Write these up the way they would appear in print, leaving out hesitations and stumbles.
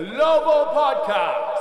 Global Podcast.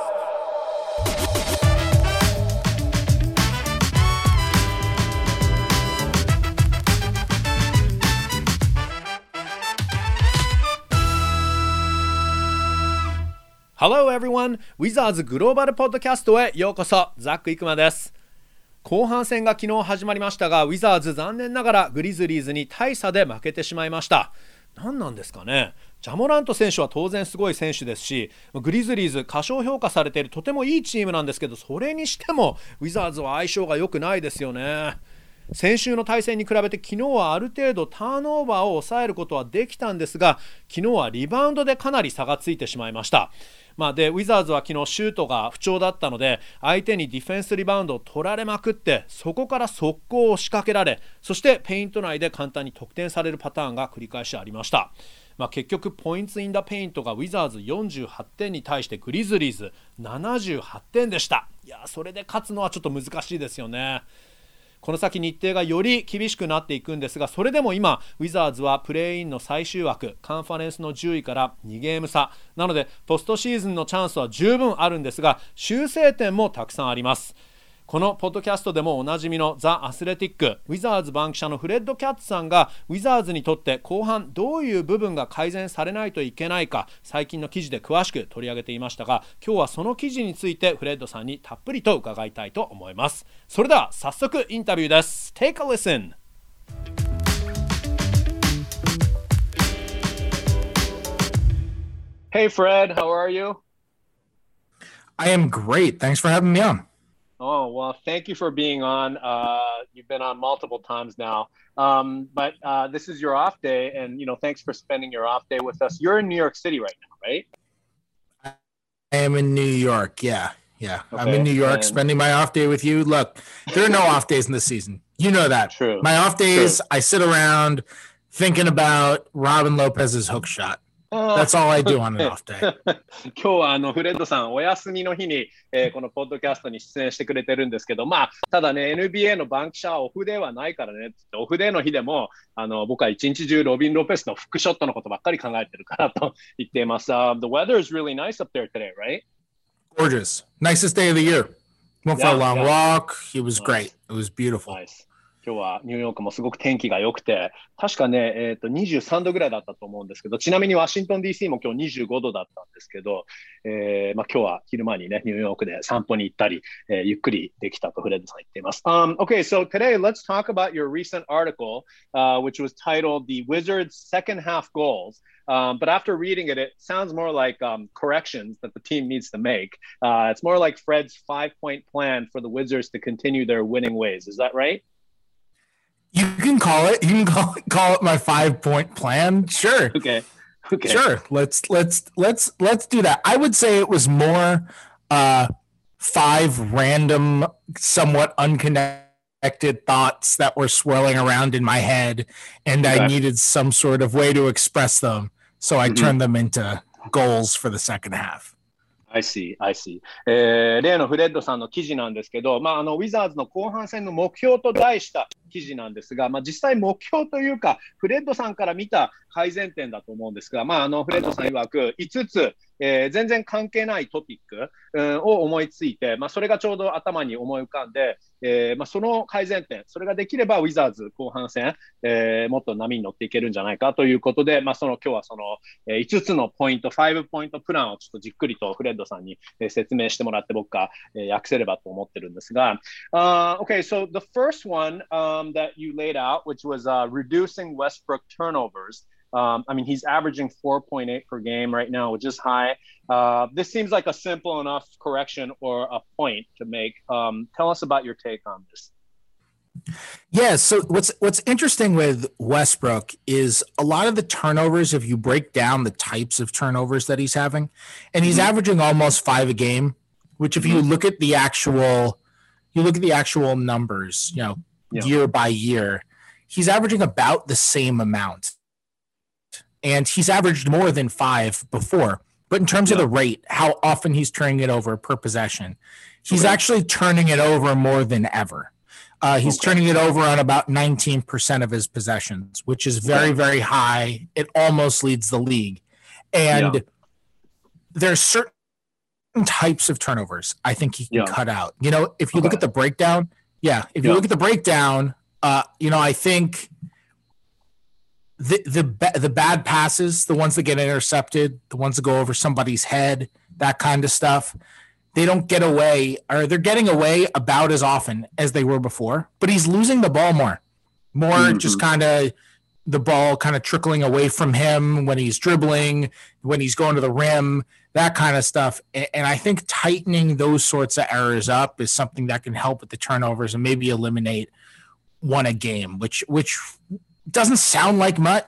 Hello everyone! ウィザーズグローバルポッドキャストへようこそ。ザック・イクマです。後半戦が昨日始まりましたが、ウィザーズ残念ながらグリズリーズに大差で負けてしまいました。何なんですかね。ジャモラント選手は当然すごい選手ですし、グリズリーズ過小評価されているとてもいいチームなんですけど、それにしてもウィザーズは相性が良くないですよね。先週の対戦に比べて昨日はある程度ターンオーバーを抑えることはできたんですが、昨日はリバウンドでかなり差がついてしまいました。でウィザーズは昨日シュートが不調だったので、相手にディフェンスリバウンドを取られまくって、そこから速攻を仕掛けられ、そしてペイント内で簡単に得点されるパターンが繰り返しありました。結局ポイントインダペイントがウィザーズ48点に対してグリズリーズ78点でした。それで勝つのはちょっと難しいですよね。この先日程がより厳しくなっていくんですが、それでも今ウィザーズはプレーインの最終枠、カンファレンスの10位から2ゲーム差なので、ポストシーズンのチャンスは十分あるんですが、修正点もたくさんあります。このポッドキャストでもおなじみのザ・アスレティックウィザーズ番記者のフレッド・キャッツさんが、ウィザーズにとって後半どういう部分が改善されないといけないか、最近の記事で詳しく取り上げていましたが、今日はその記事についてフレッドさんにたっぷりと伺いたいと思います。それでは早速インタビューです。 Take a listen. Hey Fred, how are you? I am great. Thanks for having me on. Oh, well, thank you for being on. You've been on multiple times now. But this is your off day, and, thanks for spending your off day with us. You're in New York City right now, right? I am in New York. Yeah. Okay. I'm in New York spending my off day with you. Look, there are no off days in this season. You know that. True. My off days, I sit around thinking about Robin Lopez's hook shot.That's all I do on an off day. 今日はフレッドさんお休みの日に、このポッドキャストに出演してくれてるんですけど、ただね NBA の番記者はオフデーはないからねって、オフデーの日でも僕は一日中ロビン・ロペスのフックショットのことばっかり考えてるからと言っています。The weather is really nice up there today, right? Gorgeous. Nicest day of the year. Went for a long walk. It was great. It was beautiful. Nice.今日はニューヨークもすごく天気が良くて、確かね、23度ぐらいだったと思うんですけど、ちなみにワシントン DC も今日25度だったんですけど、今日は昼間にね、ニューヨークで散歩に行ったり、ゆっくりできたとフレッドさん言っています。Okay, so today let's talk about your recent article, which was titled The Wizards' Second Half Goals. But after reading it, it sounds more like corrections that the team needs to make. It's more like Fred's 5-point plan for the Wizards to continue their winning ways. Is that right?You can call it my 5-point plan. Sure. Okay. Sure. Let's do that. I would say it was more 5 random, somewhat unconnected thoughts that were swirling around in my head, and I needed some sort of way to express them. So I turned them into goals for the second half.I see. 例のフレッドさんの記事なんですけど、ウィザーズの後半戦の目標と題した記事なんですが、実際目標というか、フレッドさんから見た改善点だと思うんですが、フレッドさん曰く5つ、全然関係ないトピック、を思いついて、それがちょうど頭に思い浮かんで、その改善点、それができればウィザーズ後半戦、もっと波に乗っていけるんじゃないかということで、今日はその、5つのポイント、5ポイントプランをちょっとじっくりとフレッドさんに、説明してもらって、僕が、訳せればと思ってるんですが、Okay, so the first one that you laid out, which was reducing Westbrook turnovers.I mean, he's averaging 4.8 per game right now, which is high. This seems like a simple enough correction or a point to make. Tell us about your take on this. Yeah, so what's interesting with Westbrook is a lot of the turnovers, if you break down the types of turnovers that he's having, and he's averaging almost 5 a game, which if you look at the actual numbers, year by year, he's averaging about the same amount.And he's averaged more than 5 before. But in terms of the rate, how often he's turning it over per possession, he's actually turning it over more than ever. He's turning it over on about 19% of his possessions, which is very, very high. It almost leads the league. And there's certain types of turnovers I think he can cut out. You know, if you look at the breakdown, if you look at the breakdown, you know, I think the bad passes, the ones that get intercepted, the ones that go over somebody's head, that kind of stuff, they don't get away, or they're getting away about as often as they were before, but he's losing the ball more, just kind of the ball kind of trickling away from him when he's dribbling, when he's going to the rim, that kind of stuff. And I think tightening those sorts of errors up is something that can help with the turnovers and maybe eliminate one a game, which doesn't sound like much,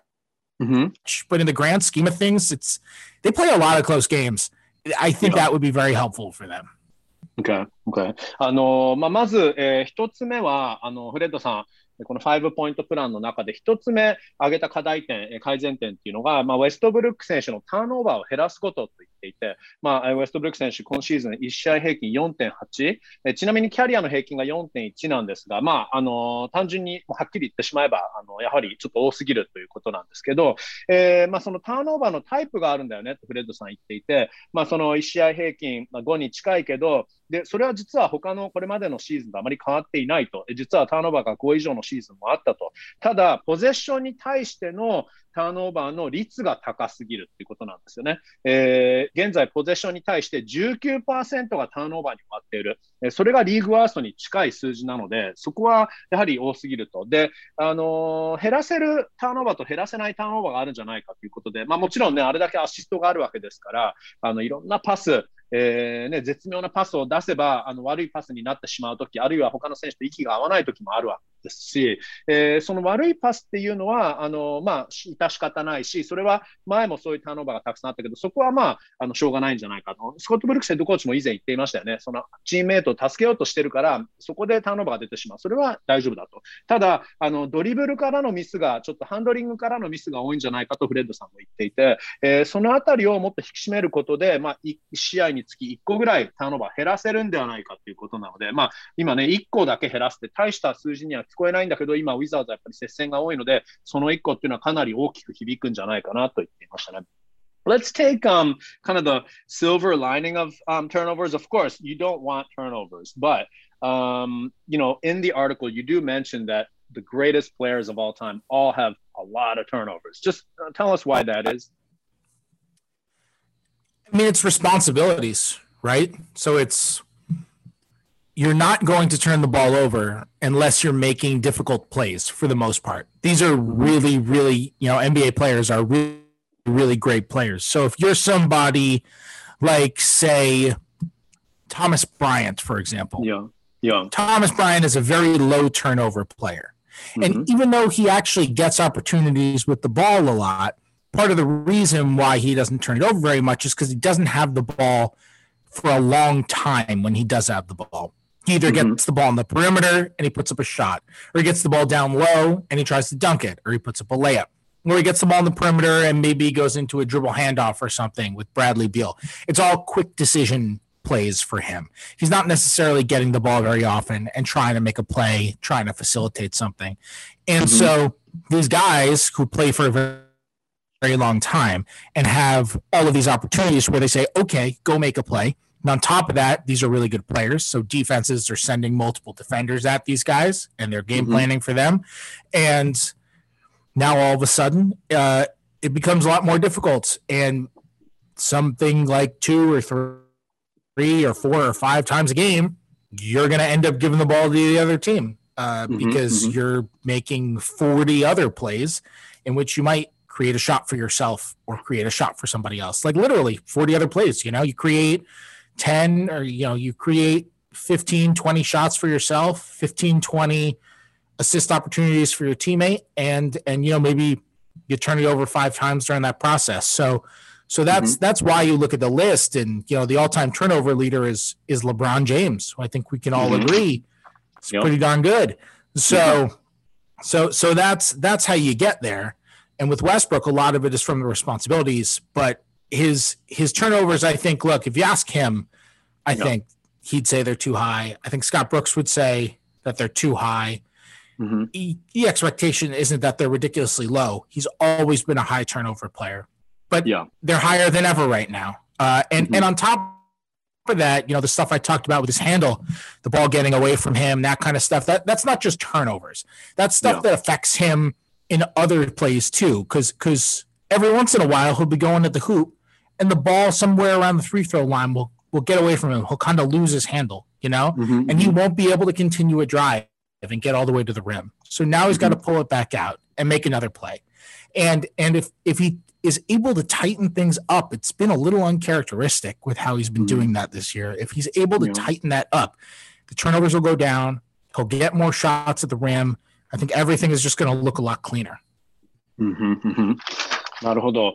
but in the grand scheme of things, they play a lot of close games. I think that would be very helpful for them. Okay. まず、一つ目は、フレッドさん、この5ポイントプランの中で一つ目挙げた課題点、改善点っていうのが、ウェストブルック選手のターンオーバーを減らすことと言っていて、ウェストブルック選手、今シーズン1試合平均 4.8、ちなみにキャリアの平均が 4.1 なんですが、単純にはっきり言ってしまえば、やはりちょっと多すぎるということなんですけど、そのターンオーバーのタイプがあるんだよねとフレッドさん言っていて、その1試合平均5に近いけど、で、それは実は他のこれまでのシーズンとあまり変わっていないと。実はターンオーバーが5以上のシーズンもあったと。ただ、ポゼッションに対してのターンオーバーの率が高すぎるっていうことなんですよね。現在、ポゼッションに対して 19% がターンオーバーに終わっている。それがリーグワーストに近い数字なので、そこはやはり多すぎると。で、減らせるターンオーバーと減らせないターンオーバーがあるんじゃないかということで、もちろんね、あれだけアシストがあるわけですから、いろんなパス、絶妙なパスを出せば悪いパスになってしまうとき、あるいは他の選手と息が合わないときもあるわけですし、その悪いパスっていうのは致し方ないし、それは前もそういうターンオーバーがたくさんあったけど、そこはしょうがないんじゃないかと。スコット・ブルックスヘッドコーチも以前言っていましたよね。そのチームメイトを助けようとしてるから、そこでターンオーバーが出てしまう。それは大丈夫だと。ただ、ドリブルからのミスが、ちょっとハンドリングからのミスが多いんじゃないかとフレッドさんも言っていて、そのあたりをもっと引き締めることで、1試合につき1個ぐらいターンオーバー減らせるんではないかということなので、今ね、1個だけ減らすって大した数字には聞こえないんだけど、今、ウィザーズはやっぱり接戦が多いので、その1個っていうのはかなり大きく響くんじゃないかなと言っていましたね。Let's take kind of the silver lining of turnovers. Of course, you don't want turnovers, but you know, in the article, you do mention that the greatest players of all time all have a lot of turnovers. Just tell us why that is. I mean, it's responsibilities, right? So you're not going to turn the ball over unless you're making difficult plays for the most part. These are really, really, you know, NBA players are really, really great players. So if you're somebody like, say, Thomas Bryant, for example. Yeah. Thomas Bryant is a very low turnover player. And even though he actually gets opportunities with the ball a lot, part of the reason why he doesn't turn it over very much is because he doesn't have the ball for a long time when he does have the ball. He either gets the ball on the perimeter and he puts up a shot, or he gets the ball down low and he tries to dunk it, or he puts up a layup, or he gets the ball on the perimeter and maybe goes into a dribble handoff or something with Bradley Beal. It's all quick decision plays for him. He's not necessarily getting the ball very often and trying to make a play, trying to facilitate something. And so these guys who play for a very long time and have all of these opportunities where they say, okay, go make a play. And on top of that, these are really good players. So defenses are sending multiple defenders at these guys and they're game planning for them. And now all of a sudden, it becomes a lot more difficult. And something like 2 or 3 or 4 or 5 times a game, you're going to end up giving the ball to the other team because you're making 40 other plays in which you might create a shot for yourself or create a shot for somebody else. Like literally 40 other plays, you know, you create 10 or, you know, you create 15, 20 shots for yourself, 15, 20 assist opportunities for your teammate. And, you know, maybe you turn it over 5 times during that process. So that's why you look at the list and, you know, the all-time turnover leader is LeBron James, who I think we can all agree is pretty darn good. So that's how you get there. And with Westbrook, a lot of it is from the responsibilities, but his turnovers, I think, look, if you ask him, I think he'd say they're too high. I think Scott Brooks would say that they're too high. The expectation isn't that they're ridiculously low. He's always been a high turnover player, but they're higher than ever right now. And on top of that, the stuff I talked about with his handle, the ball getting away from him, that kind of stuff, that's not just turnovers. That's stuff that affects him in other plays too, because every once in a while he'll be going at the hoop and the ball somewhere around the free throw line will get away from him. He'll kind of lose his handle, and he won't be able to continue a drive and get all the way to the rim. So now he's got to pull it back out and make another play. And if he is able to tighten things up, it's been a little uncharacteristic with how he's been doing that this year. If he's able to tighten that up, the turnovers will go down. He'll get more shots at the rim. I think everything is just going to look a lot cleaner. なるほど。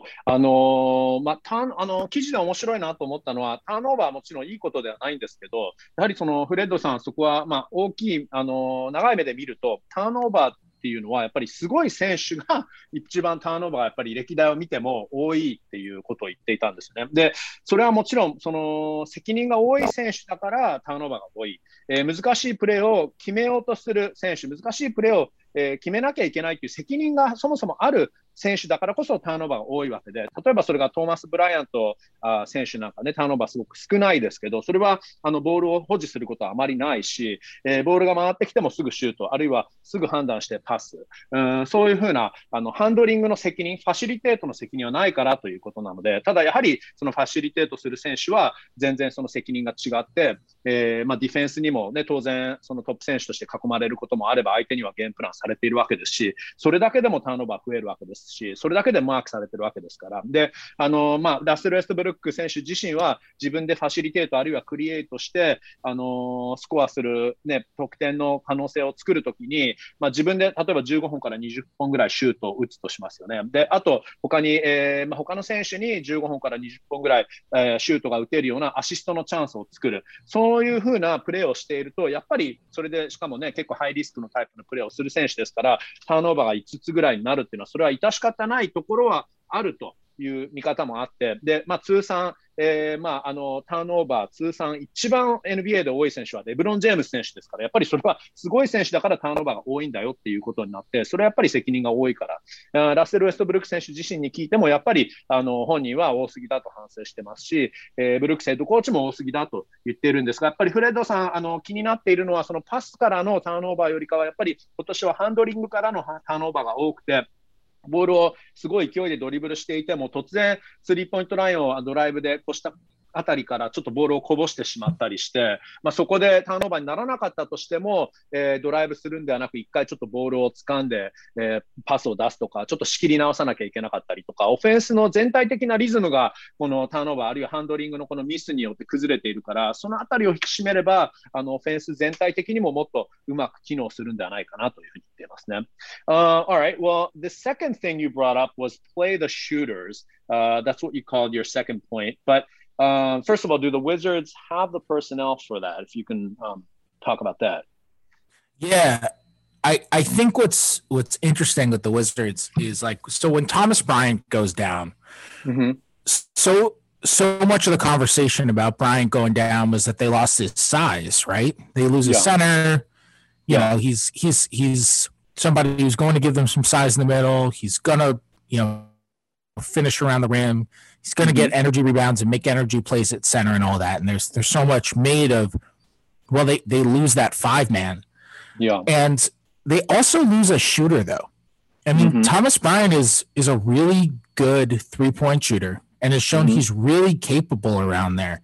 記事で面白いなと思ったのは、ターンオーバーはもちろんいいことではないんですけど、やはりフレッドさん、そこは大きい、長い目で見ると、ターンオーバーっていうのは、やっぱりすごい選手が一番ターンオーバーがやっぱり歴代を見ても多いっていうことを言っていたんですよね。で、それはもちろん、責任が多い選手だからターンオーバーが多い。難しいプレーを決めようとする選手、難しいプレーを決めなきゃいけないという責任がそもそもある選手だからこそターンオーバーが多いわけで、例えばそれがトーマス・ブライアント選手なんかね、ターンオーバーすごく少ないですけど、それはボールを保持することはあまりないし、ボールが回ってきてもすぐシュート、あるいはすぐ判断してパス、そういうふうなハンドリングの責任、ファシリテートの責任はないからということなので、ただやはりそのファシリテートする選手は全然その責任が違って、ディフェンスにもね、当然そのトップ選手として囲まれることもあれば、相手にはゲームプランされているわけですし、それだけでもターンオーバー増えるわけですし、それだけでマークされてるわけですから。で、ラッセル・ウェストブルック選手自身は自分でファシリテートあるいはクリエイトして、スコアする、ね、得点の可能性を作るときに、自分で例えば15本から20本ぐらいシュートを打つとしますよね。で、あと他に、他の選手に15本から20本ぐらい、シュートが打てるようなアシストのチャンスを作る。そういうふうなプレーをしていると、やっぱりそれでしかもね、結構ハイリスクのタイプのプレーをする選手ですから、ターンオーバーが5つぐらいになるっていうのは、それは致し方ないところはあるという見方もあって、で、通算、ターンオーバー通算一番 NBA で多い選手はレブロン・ジェームス選手ですから、やっぱりそれはすごい選手だからターンオーバーが多いんだよっていうことになって、それはやっぱり責任が多いから、ラッセル・ウェストブルック選手自身に聞いても、やっぱり本人は多すぎだと反省してますし、ブルックスヘッドコーチも多すぎだと言っているんですが、やっぱりフレッドさん、気になっているのは、そのパスからのターンオーバーよりかは、やっぱり今年はハンドリングからのターンオーバーが多くて、ボールをすごい勢いでドリブルしていても、突然スリーポイントラインをドライブで越したあたりからちょっとボールをこぼしてしまったりして、そこでターンオーバーにならなかったとしても、ドライブするんではなく、一回ちょっとボールを掴んで、パスを出すとか、ちょっと仕切り直さなきゃいけなかったりとか、オフェンスの全体的なリズムがこのターンオーバーあるいはハンドリングのこのミスによって崩れているから、そのあたりを引き締めればオフェンス全体的にももっとうまく機能するんではないかなというふうに言っていますね。Alright, well, the second thing you brought up was play the shooters. That's what you called your second point. But first of all, do the Wizards have the personnel for that? If you can talk about that. Yeah, I think what's interesting with the Wizards is so when Thomas Bryant goes down, so much of the conversation about Bryant going down was that they lost his size, right? They lose his center. You know, he's somebody who's going to give them some size in the middle. He's gonna, finish around the rim. He's going to get energy rebounds and make energy plays at center and all that. And there's so much made of, well, they lose that 5-man. Yeah. And they also lose a shooter, though. I mean, Thomas Bryant is a really good 3-point shooter and has shown he's really capable around there.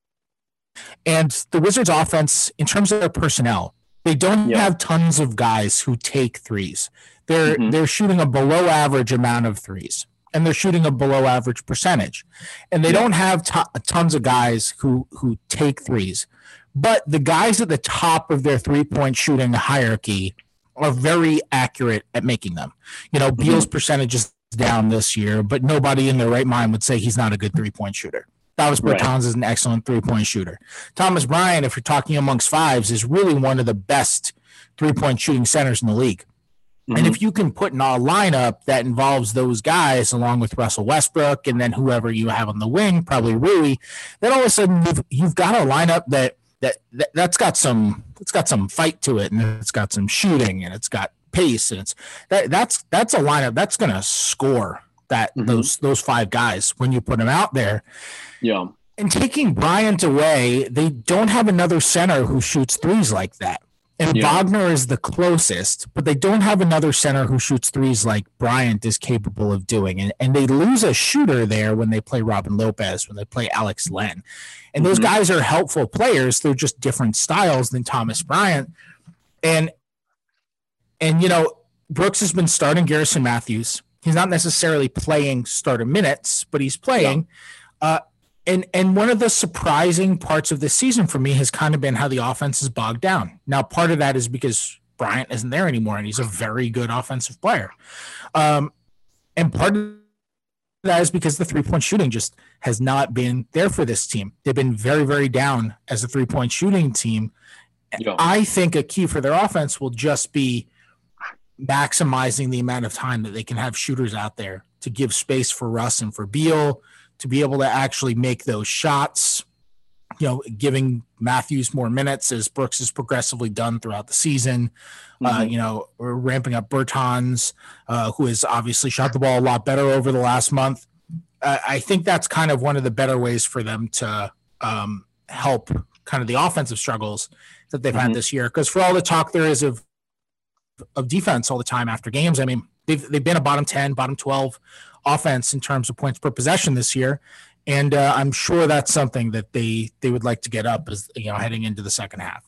And the Wizards offense, in terms of their personnel, they don't have tons of guys who take threes. They're shooting a below average amount of threes. And they're shooting a below average percentage. And they don't have tons of guys who take threes. But the guys at the top of their 3-point shooting hierarchy are very accurate at making them. Beal's percentage is down this year, but nobody in their right mind would say he's not a good 3-point shooter. Davis Bertans is an excellent 3-point shooter. Thomas Bryant, if you're talking amongst fives, is really one of the best 3-point shooting centers in the league. And if you can put in a lineup that involves those guys along with Russell Westbrook and then whoever you have on the wing, probably Rui, then all of a sudden you've got a lineup that's got some fight to it, and it's got some shooting, and it's got pace, and that's a lineup that's going to score that those five guys when you put them out there. Yeah. And taking Bryant away, they don't have another center who shoots threes like that. And Wagner is the closest, but they don't have another center who shoots threes like Bryant is capable of doing. And they lose a shooter there when they play Robin Lopez, when they play Alex Len. And those guys are helpful players. They're just different styles than Thomas Bryant. And you know, Brooks has been starting Garrison Matthews. He's not necessarily playing starter minutes, but he's playing. And one of the surprising parts of this season for me has kind of been how the offense is bogged down. Now, part of that is because Bryant isn't there anymore, and he's a very good offensive player. And part of that is because the three-point shooting just has not been there for this team. They've been very, very down as a three-point shooting team. Yeah. I think a key for their offense will just be maximizing the amount of time that they can have shooters out there to give space for Russ and for Beal, to be able to actually make those shots, you know, giving Matthews more minutes as Brooks has progressively done throughout the season. You know, we're ramping up Bertans, who has obviously shot the ball a lot better over the last month. I think that's kind of one of the better ways for them to help kind of the offensive struggles that they've had this year. Because for all the talk there is of defense all the time after games, I mean, they've been a bottom 10, bottom 12 offense in terms of points per possession this year. And I'm sure that's something that they would like to get up as, you know, heading into the second half.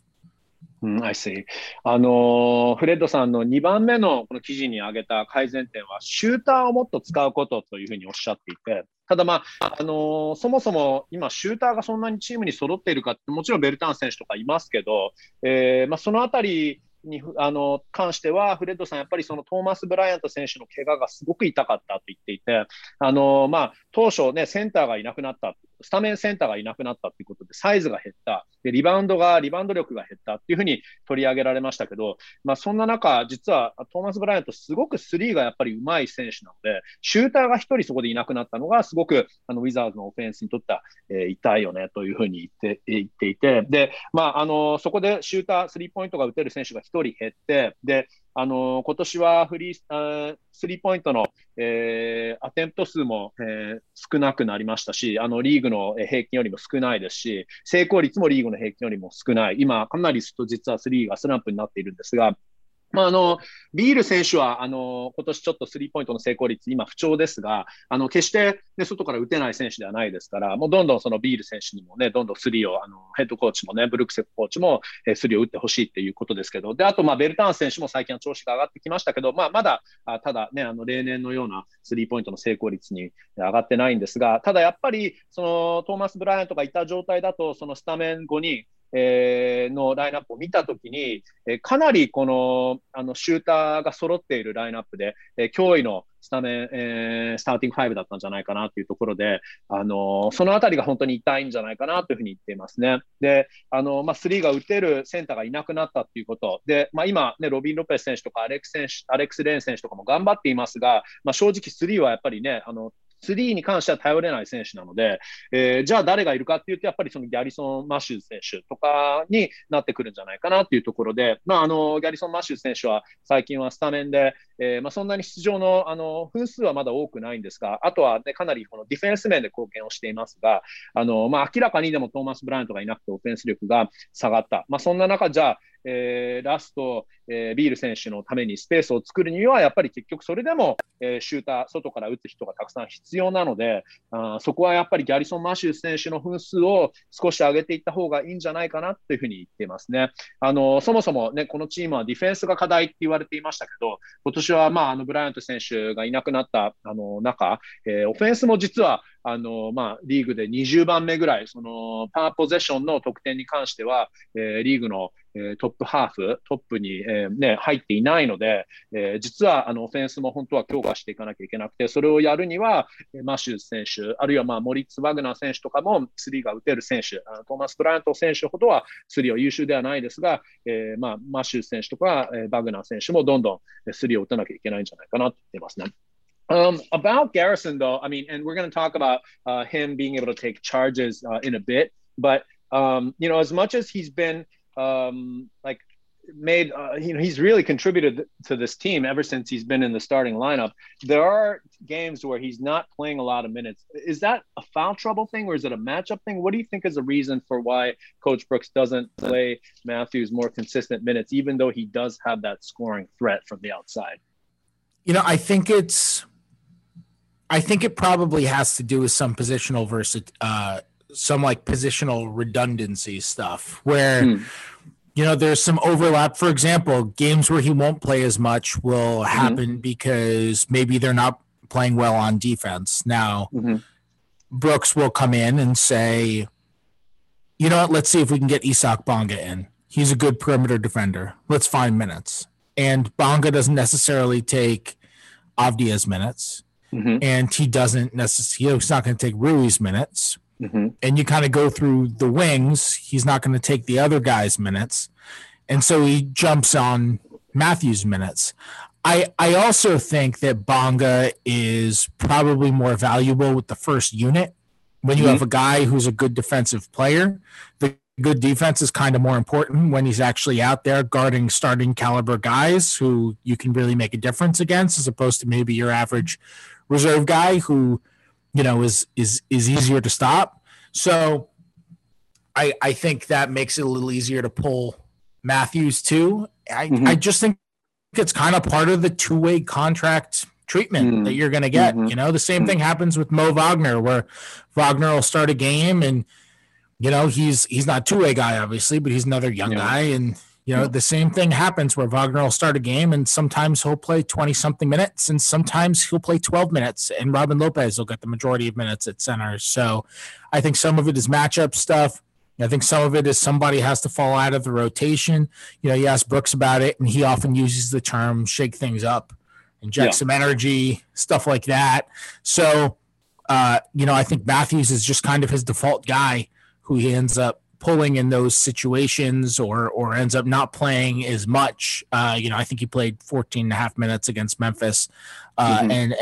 I see. フレッドさんの2番目のこの記事に挙げた改善点は、シューターをもっと使うことというふうにおっしゃっていて、ただまあ、そもそも今シューターがそんなにチームに揃っているかって、もちろんベルタン選手とかいますけど、まあ、そのあたりに関しては、フレッドさん、やっぱりそのトーマス・ブライアント選手の怪我がすごく痛かったと言っていて、まあ、当初ね、センターがいなくなった、スタメンセンターがいなくなったということで、サイズが減った、でリバウンド力が減ったっていうふうに取り上げられましたけど、まあ、そんな中、実はトーマス・ブライアント、すごくスリーがやっぱり上手い選手なので、シューターが一人そこでいなくなったのが、すごくウィザーズのオフェンスにとっては、痛いよねというふうに言っていて、で、まあ、そこでシューター、スリーポイントが打てる選手が一人減って、で、今年はスリーポイントの、アテンプト数も、少なくなりましたし、リーグの平均よりも少ないですし、成功率もリーグの平均よりも少ない。今、かなり実はスリーがスランプになっているんですが、まあ、ビール選手は、今年ちょっとスリーポイントの成功率、今不調ですが、決して、ね、外から打てない選手ではないですから、もうどんどんそのビール選手にもね、どんどんスリーを、ヘッドコーチもね、ブルックセッコーチも、スリーを打ってほしいっていうことですけど、で、あと、まあ、ベルターン選手も最近は調子が上がってきましたけど、まあ、まだ、ただね、例年のようなスリーポイントの成功率に上がってないんですが、ただやっぱり、その、トーマス・ブライアントがいた状態だと、そのスタメン5人、のラインナップを見たときに、かなりこの、シューターが揃っているラインナップで、驚異のスタメン、スターティング5だったんじゃないかなというところで、そのあたりが本当に痛いんじゃないかなというふうに言っていますね。で、まあ、スリーが打てるセンターがいなくなったということ。で、まあ、今、ね、ロビン・ロペス選手とかアレックス・レーン選手とかも頑張っていますが、まあ、正直スリーはやっぱりね、スリーに関しては頼れない選手なので、じゃあ誰がいるかっていうと、やっぱりそのギャリソン・マシューズ選手とかになってくるんじゃないかなっていうところで、まあ、ギャリソン・マシューズ選手は最近はスタメンで、まあ、そんなに出場の分数はまだ多くないんですが、あとは、ね、かなりこのディフェンス面で貢献をしていますが、まあ、明らかにでもトーマス・ブライアントがいなくてオフェンス力が下がった。まあ、そんな中、じゃあ、ラスト、ビール選手のためにスペースを作るには、やっぱり結局それでも、シューター、外から打つ人がたくさん必要なので、そこはやっぱりギャリソン・マシュー選手の分数を少し上げていった方がいいんじゃないかなというふうに言っていますね。そもそもね、このチームはディフェンスが課題って言われていましたけど、今年はまあ、ブライアント選手がいなくなった中、オフェンスも実はまあ、リーグで20番目ぐらい、そのパワーポゼッションの得点に関しては、リーグのトップハーフ、トップに、ね、入っていないので、実はオフェンスも本当は強化していかなきゃいけなくて、それをやるには、マシューズ選手、あるいはまあモリッツ・ワグナー選手とかもスリーが打てる選手、トーマス・ブライアント選手ほどはスリーは優秀ではないですが、まあ、マシューズ選手とか、バグナー選手もどんどんスリーを打たなきゃいけないんじゃないかなと言っていますね。About Garrison, though, I mean, and we're going to talk about him being able to take charges in a bit, but, you know, as much as he's been like made, he's really contributed to this team ever since he's been in the starting lineup. There are games where he's not playing a lot of minutes. Is that a foul trouble thing or is it a matchup thing? What do you think is the reason for why Coach Brooks doesn't play Matthews more consistent minutes, even though he does have that scoring threat from the outside? I think it probably has to do with some positional some like positional redundancy stuff where there's some overlap. For example, games where he won't play as much will happen because maybe they're not playing well on defense. Now, Brooks will come in and say, you know what, let's see if we can get Isak Bonga in. He's a good perimeter defender. Let's find minutes. And Bonga doesn't necessarily take Avdia's minutes. And he doesn't necessarily, he's not going to take Rui's minutes. And you kind of go through the wings. He's not going to take the other guy's minutes. And so he jumps on Matthews' minutes. I also think that Bonga is probably more valuable with the first unit. When you have a guy who's a good defensive player, the good defense is kind of more important when he's actually out there guarding starting caliber guys who you can really make a difference against, as opposed to maybe your average reserve guy who is easier to stop. So I think that makes it a little easier to pull Matthews too. I just think it's kind of part of the two-way contract treatment that you're going to get. The same thing happens with Mo Wagner, where Wagner will start a game and he's not two-way guy obviously, but he's another young guy, and the same thing happens where Wagner will start a game and sometimes he'll play 20-something minutes and sometimes he'll play 12 minutes and Robin Lopez will get the majority of minutes at center. So I think some of it is matchup stuff. I think some of it is somebody has to fall out of the rotation. You ask Brooks about it and he often uses the term shake things up, inject some energy, stuff like that. So, I think Matthews is just kind of his default guy who he ends up pulling in those situations or ends up not playing as much. I think he played 14 and a half minutes against Memphis. And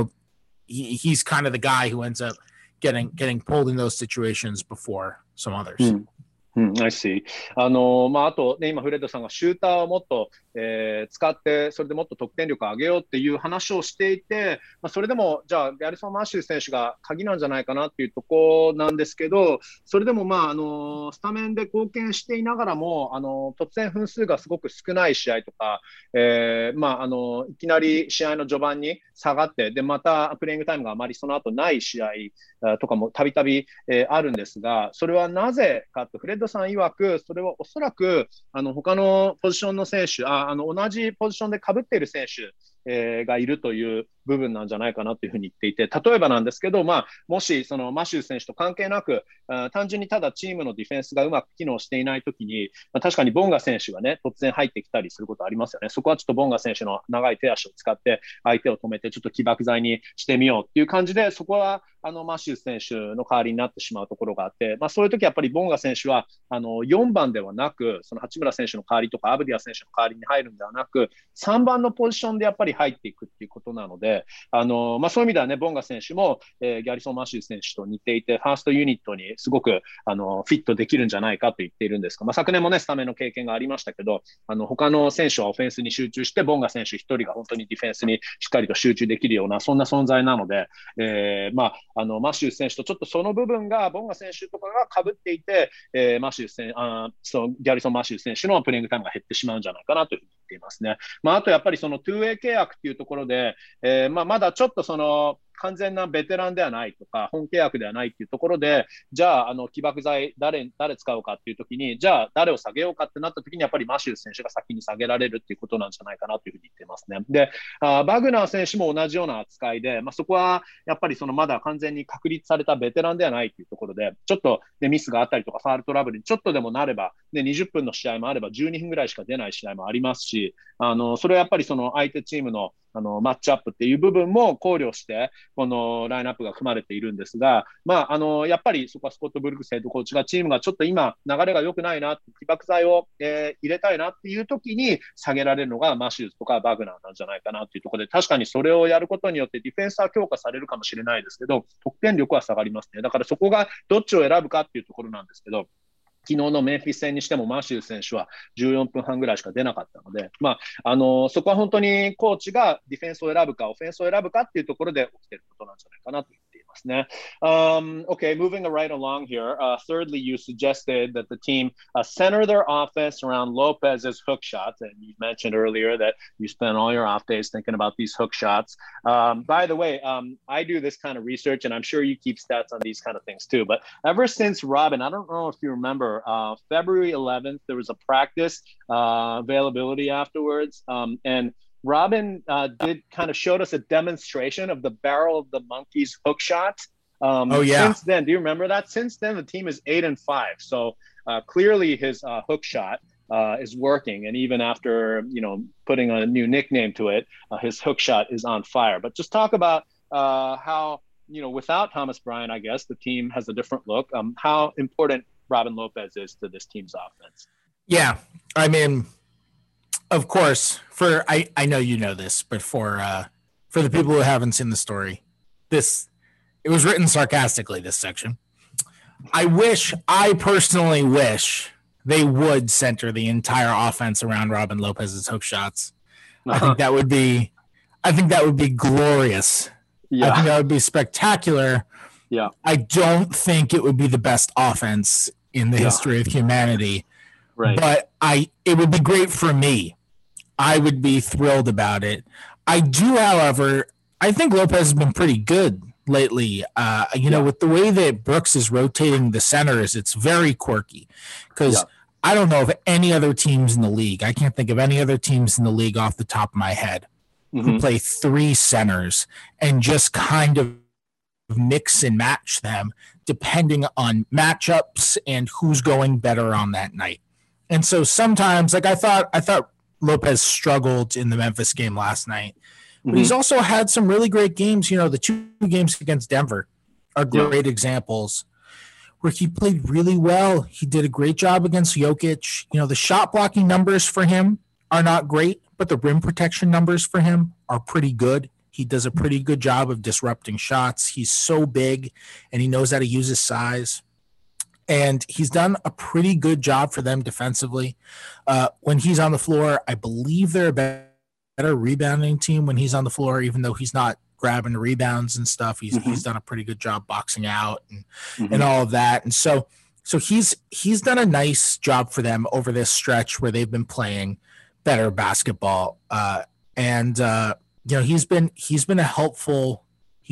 he's kind of the guy who ends up getting pulled in those situations before some others. I see. あとね、今フレッドさんがシューターをもっと、使ってそれでもっと得点力を上げようっていう話をしていて、それでもじゃあギャリソン・マシュー選手が鍵なんじゃないかなっていうところなんですけど、それでもスタメンで貢献していながらも突然分数がすごく少ない試合とか、いきなり試合の序盤に下がってでまたプレイングタイムがあまりその後ない試合とかもたびたびあるんですが、それはなぜかとフレッドさん曰く、それはおそらく他のポジションの選手、同じポジションで被っている選手がいるという部分なんじゃないかなというふうに言っていて、例えばなんですけど、もしそのマシュー選手と関係なく単純にただチームのディフェンスがうまく機能していないときに、確かにボンガ選手がね突然入ってきたりすることありますよね。そこはちょっとボンガ選手の長い手足を使って相手を止めてちょっと起爆剤にしてみようっていう感じで、そこはマシュー選手の代わりになってしまうところがあって、そういう時やっぱりボンガ選手は4番ではなく、その八村選手の代わりとかアブディア選手の代わりに入るんではなく、3番のポジションでやっぱり入っていくっていうことなので、そういう意味ではね、ボンガ選手も、ギャリソン・マシュー選手と似ていて、ファーストユニットにすごくフィットできるんじゃないかと言っているんですが、昨年もねスタメンの経験がありましたけど、他の選手はオフェンスに集中して、ボンガ選手一人が本当にディフェンスにしっかりと集中できるようなそんな存在なので、マシュー選手とちょっとその部分がボンガ選手とかが被っていて、ギャリソン・マシュー選手のプレイングタイムが減ってしまうんじゃないかなというふうに言っていますね。あとやっぱりその 2way 契約っていうところで、まだちょっとその完全なベテランではないとか本契約ではないっていうところで、じゃあ起爆剤誰使うかっていう時に、じゃあ誰を下げようかってなった時にやっぱりマシュー選手が先に下げられるっていうことなんじゃないかなというふうに言っていますね。で、バグナー選手も同じような扱いで、そこはやっぱりそのまだ完全に確立されたベテランではないっていうところで、ちょっと、ね、ミスがあったりとかファールトラブルにちょっとでもなれば、ね、20分の試合もあれば12分ぐらいしか出ない試合もありますし、それはやっぱりその相手チームのマッチアップっていう部分も考慮してこのラインナップが組まれているんですが、やっぱりそこはスコット・ブルックスヘッドコーチがチームがちょっと今流れが良くないな、起爆剤を、入れたいなっていう時に下げられるのがマシューズとかバグナーなんじゃないかなっていうところで、確かにそれをやることによってディフェンスは強化されるかもしれないですけど、得点力は下がりますね。だからそこがどっちを選ぶかっていうところなんですけど、 昨日のメンフィス戦にしてもマシュー選手は14分半ぐらいしか出なかったので、そこは本当にコーチがディフェンスを選ぶかオフェンスを選ぶかっていうところで起きていることなんじゃないかなと言っていますね。Okay, moving right along here. Thirdly, you suggested that the team center their offense around Lopez's hook shots, and you mentioned earlier that you spend all your off days thinking about these hook shots. By the way, I do this kind of research, and I'm sure you keep stats on these kind of things too. But ever since Robin, I don't know if you remember, February 11th, there was a practice availability afterwards, and Robin did kind of showed us a demonstration of the barrel of the monkey's hook shot. Since then, do you remember that? Since then, the team is 8-5. So clearly, his hook shot is working, and even after putting a new nickname to it, his hook shot is on fire. But just talk about how without Thomas Bryant, I guess the team has a different look. How important Robin Lopez is to this team's offense. Yeah, I mean, of course, I know you know this, but for the people who haven't seen the story, it was written sarcastically, this section. I personally wish they would center the entire offense around Robin Lopez's hook shots. I think that would be glorious. Yeah. I think that would be spectacular. Yeah. I don't think it would be the best offense in the history of humanity. Right. But it would be great for me. I would be thrilled about it. I do, however, I think Lopez has been pretty good lately. With the way that Brooks is rotating the centers, it's very quirky because I don't know of any other teams in the league. I can't think of any other teams in the league off the top of my head who play three centers and just kind of mix and match them depending on matchups and who's going better on that night. And so sometimes, like I thought Lopez struggled in the Memphis game last night, but he's also had some really great games. The two games against Denver are great examples where he played really well. He did a great job against Jokic. The shot blocking numbers for him are not great, but the rim protection numbers for him are pretty good. He does a pretty good job of disrupting shots. He's so big, and he knows how to use his size. And he's done a pretty good job for them defensively. When he's on the floor, I believe they're a better rebounding team when he's on the floor, even though he's not grabbing rebounds and stuff. He's done a pretty good job boxing out and all of that. And so he's done a nice job for them over this stretch where they've been playing better basketball. He's been a helpful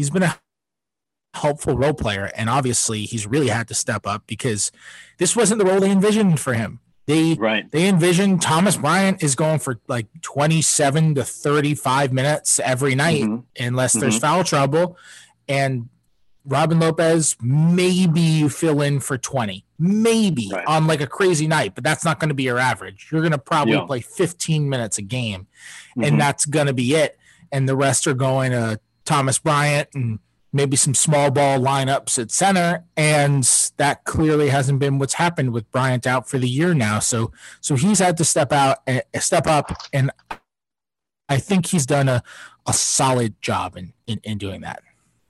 role player, and obviously he's really had to step up because this wasn't the role they envisioned for him. They envisioned Thomas Bryant is going for like 27 to 35 minutes every night unless there's foul trouble, and Robin Lopez maybe you fill in for 20 on like a crazy night, but that's not going to be your average. You're going to probably play 15 minutes a game, and that's going to be it, and the rest are going to Thomas Bryant and maybe some small ball lineups at center, and that clearly hasn't been what's happened with Bryant out for the year now. So he's had to step up, and I think he's done a solid job in doing that.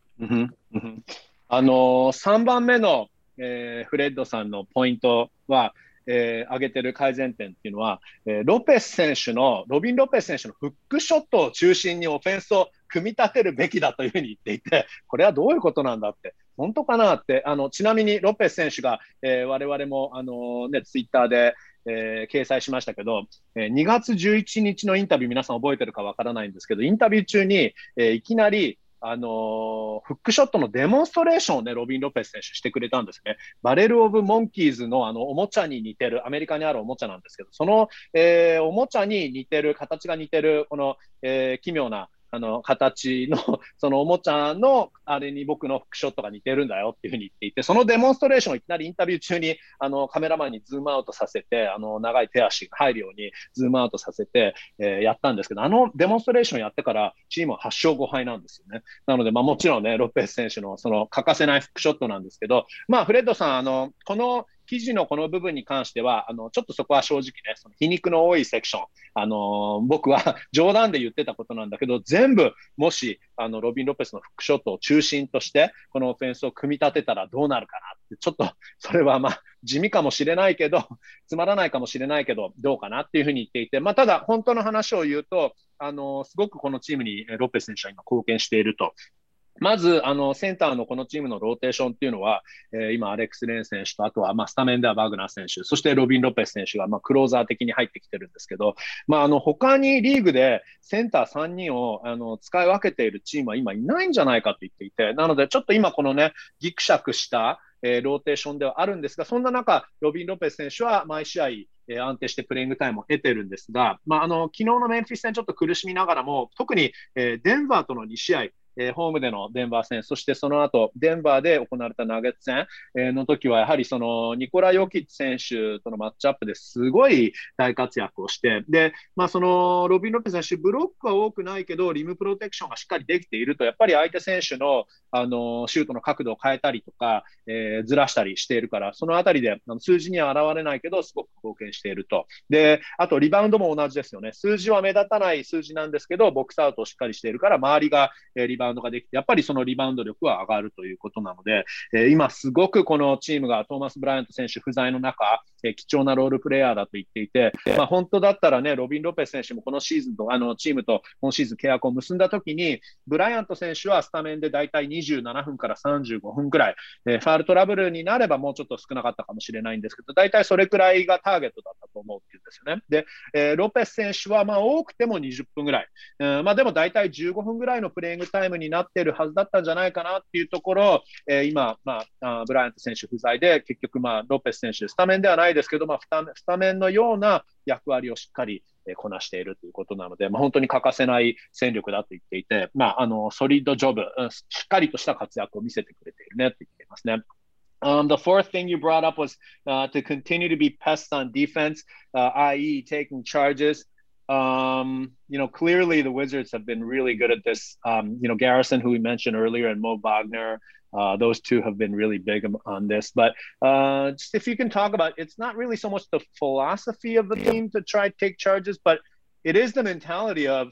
3番目の、フレッドさんのポイントは、挙げてる改善点っていうのは、ロビン・ロペス選手のフックショットを中心にオフェンスを組み立てるべきだというふうに言っていて、これはどういうことなんだって、本当かなって、ちなみにロペス選手が、我々もツイッターで、掲載しましたけど、2月11日のインタビュー、皆さん覚えてるかわからないんですけど、インタビュー中に、いきなりフックショットのデモンストレーションをね、ロビン・ロペス選手してくれたんですね。バレル・オブ・モンキーズのおもちゃに似てる、アメリカにあるおもちゃなんですけど、その、おもちゃに似てる、形が似てる、この、奇妙な形のそのおもちゃのあれに僕のフックショットが似てるんだよっていうふうに言っていて、そのデモンストレーションをいきなりインタビュー中にカメラマンにズームアウトさせて、長い手足が入るようにズームアウトさせて、やったんですけど、デモンストレーションやってからチームは8勝5敗なんですよね。なので、もちろんね、ロペス選手のその欠かせないフックショットなんですけど、フレッドさん、この記事のこの部分に関しては、ちょっとそこは正直ね、その皮肉の多いセクション、僕は冗談で言ってたことなんだけど、全部、もし、ロビン・ロペスのフックショットを中心として、このオフェンスを組み立てたらどうなるかなって、ちょっと、それは地味かもしれないけど、つまらないかもしれないけど、どうかなっていうふうに言っていて、ただ本当の話を言うと、すごくこのチームにロペス選手は今貢献していると。まず、センターのこのチームのローテーションっていうのは、今、アレックス・レン選手と、あとは、スタメンではバグナー選手、そしてロビン・ロペス選手が、クローザー的に入ってきてるんですけど、他にリーグでセンター3人を、使い分けているチームは今いないんじゃないかと言っていて、なので、ちょっと今このね、ギクシャクした、ローテーションではあるんですが、そんな中、ロビン・ロペス選手は毎試合、安定してプレイングタイムを得てるんですが、昨日のメンフィス戦ちょっと苦しみながらも、特に、デンバーとの2試合、ホームでのデンバー戦、そしてその後、デンバーで行われたナゲッツ戦の時は、やはりそのニコラ・ヨキッチ選手とのマッチアップですごい大活躍をして、で、そのロビン・ロペス選手、ブロックは多くないけど、リムプロテクションがしっかりできていると、やっぱり相手選手の、シュートの角度を変えたりとか、ずらしたりしているから、そのあたりで数字には現れないけど、すごく貢献していると。で、あとリバウンドも同じですよね。数字は目立たない数字なんですけど、ボックスアウトをしっかりしているから、周りがリバウンドができて、やっぱりそのリバウンド力は上がるということなので、今すごくこのチームがトーマス・ブライアント選手不在の中、貴重なロールプレイヤーだと言っていて、本当だったらね、ロビン・ロペス選手もこのシーズンと、チームと今シーズン契約を結んだときに、ブライアント選手はスタメンでだいたい27分から35分くらい、ファールトラブルになればもうちょっと少なかったかもしれないんですけど、だいたいそれくらいがターゲットだったと思うっていうんですよね。で、ロペス選手は多くても20分ぐらい、でもだいたい15分ぐらいのプレイングタイムになっているはずだったんじゃないかなっていうところ、今、ブライアント選手不在で、結局、ロペス選手、スタメンではないですけど、スタメンのような役割をしっかりこなしているということなので、本当に欠かせない戦力だと言っていて、ソリッドジョブ、しっかりとした活躍を見せてくれているねと言っていますね。The fourth thing you brought up was to continue to be pests on defense, i.e. taking charges. Clearly the Wizards have been really good at this. Garrison, who we mentioned earlier, and Mo Wagner, those two have been really big on this. But just if you can talk about, it's not really so much the philosophy of the team to try to take charges, but it is the mentality of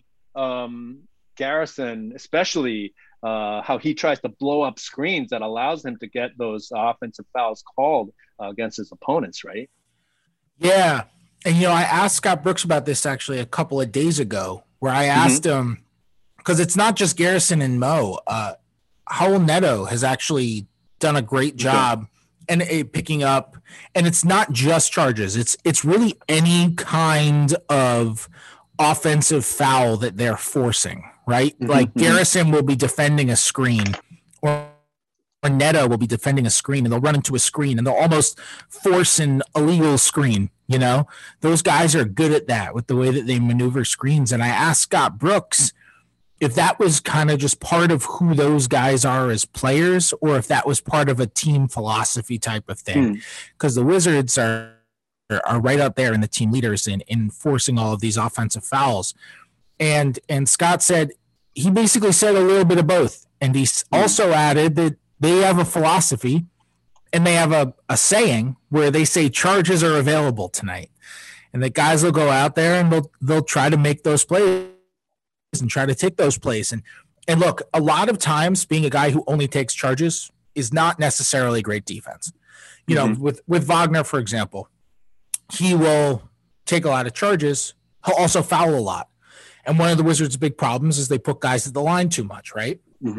Garrison, especially how he tries to blow up screens that allows him to get those offensive fouls called against his opponents, right? Yeah. And, I asked Scott Brooks about this actually a couple of days ago, where I asked him, because it's not just Garrison and Mo. Raul Neto has actually done a great job and picking up, and it's not just charges. It's really any kind of offensive foul that they're forcing, right? Like Garrison will be defending a screen, or Neto will be defending a screen, and they'll run into a screen and they'll almost force an illegal screen. Those guys are good at that with the way that they maneuver screens. And I asked Scott Brooks if that was kind of just part of who those guys are as players, or if that was part of a team philosophy type of thing. Because the Wizards are right up there in the team leaders in enforcing all of these offensive fouls. And Scott said, he basically said a little bit of both. And he also added that they have a philosophy and they have a saying where they say charges are available tonight. And the guys will go out there and they'll try to make those plays and try to take those plays. And look, a lot of times being a guy who only takes charges is not necessarily great defense. With Wagner, for example, he will take a lot of charges. He'll also foul a lot. And one of the Wizards' big problems is they put guys at the line too much, right?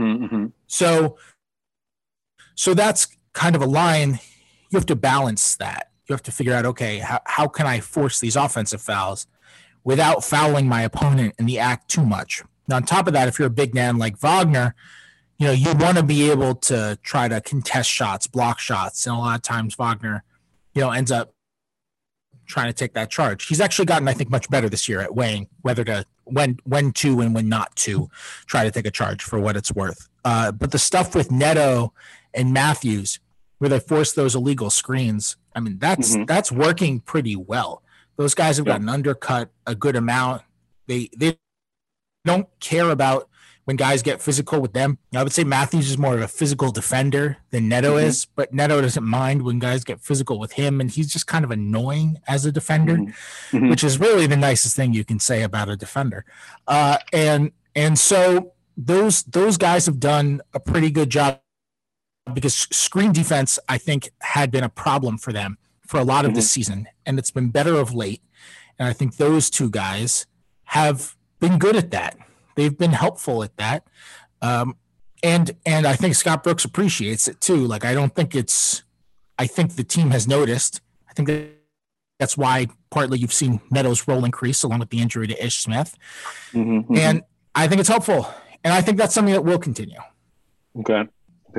So that's kind of a line. You have to balance that. You have to figure out, okay, how can I force these offensive fouls without fouling my opponent in the act too much? Now, on top of that, if you're a big man like Wagner, you want to be able to try to contest shots, block shots. And a lot of times Wagner, ends up trying to take that charge. He's actually gotten, I think, much better this year at weighing whether to when to and when not to try to take a charge, for what it's worth. But the stuff with Neto and Matthews, where they force those illegal screens, I mean, that's working pretty well. Those guys have gotten undercut a good amount. They don't care about when guys get physical with them. I would say Matthews is more of a physical defender than Neto is, but Neto doesn't mind when guys get physical with him, and he's just kind of annoying as a defender, which is really the nicest thing you can say about a defender. And so those guys have done a pretty good job, because screen defense, I think, had been a problem for them for a lot of this season, and it's been better of late. And I think those two guys have been good at that. They've been helpful at that. And I think Scott Brooks appreciates it too. Like, I think the team has noticed. I think that's why partly you've seen Neto's role increase along with the injury to Ish Smith. And I think it's helpful. And I think that's something that will continue. Okay.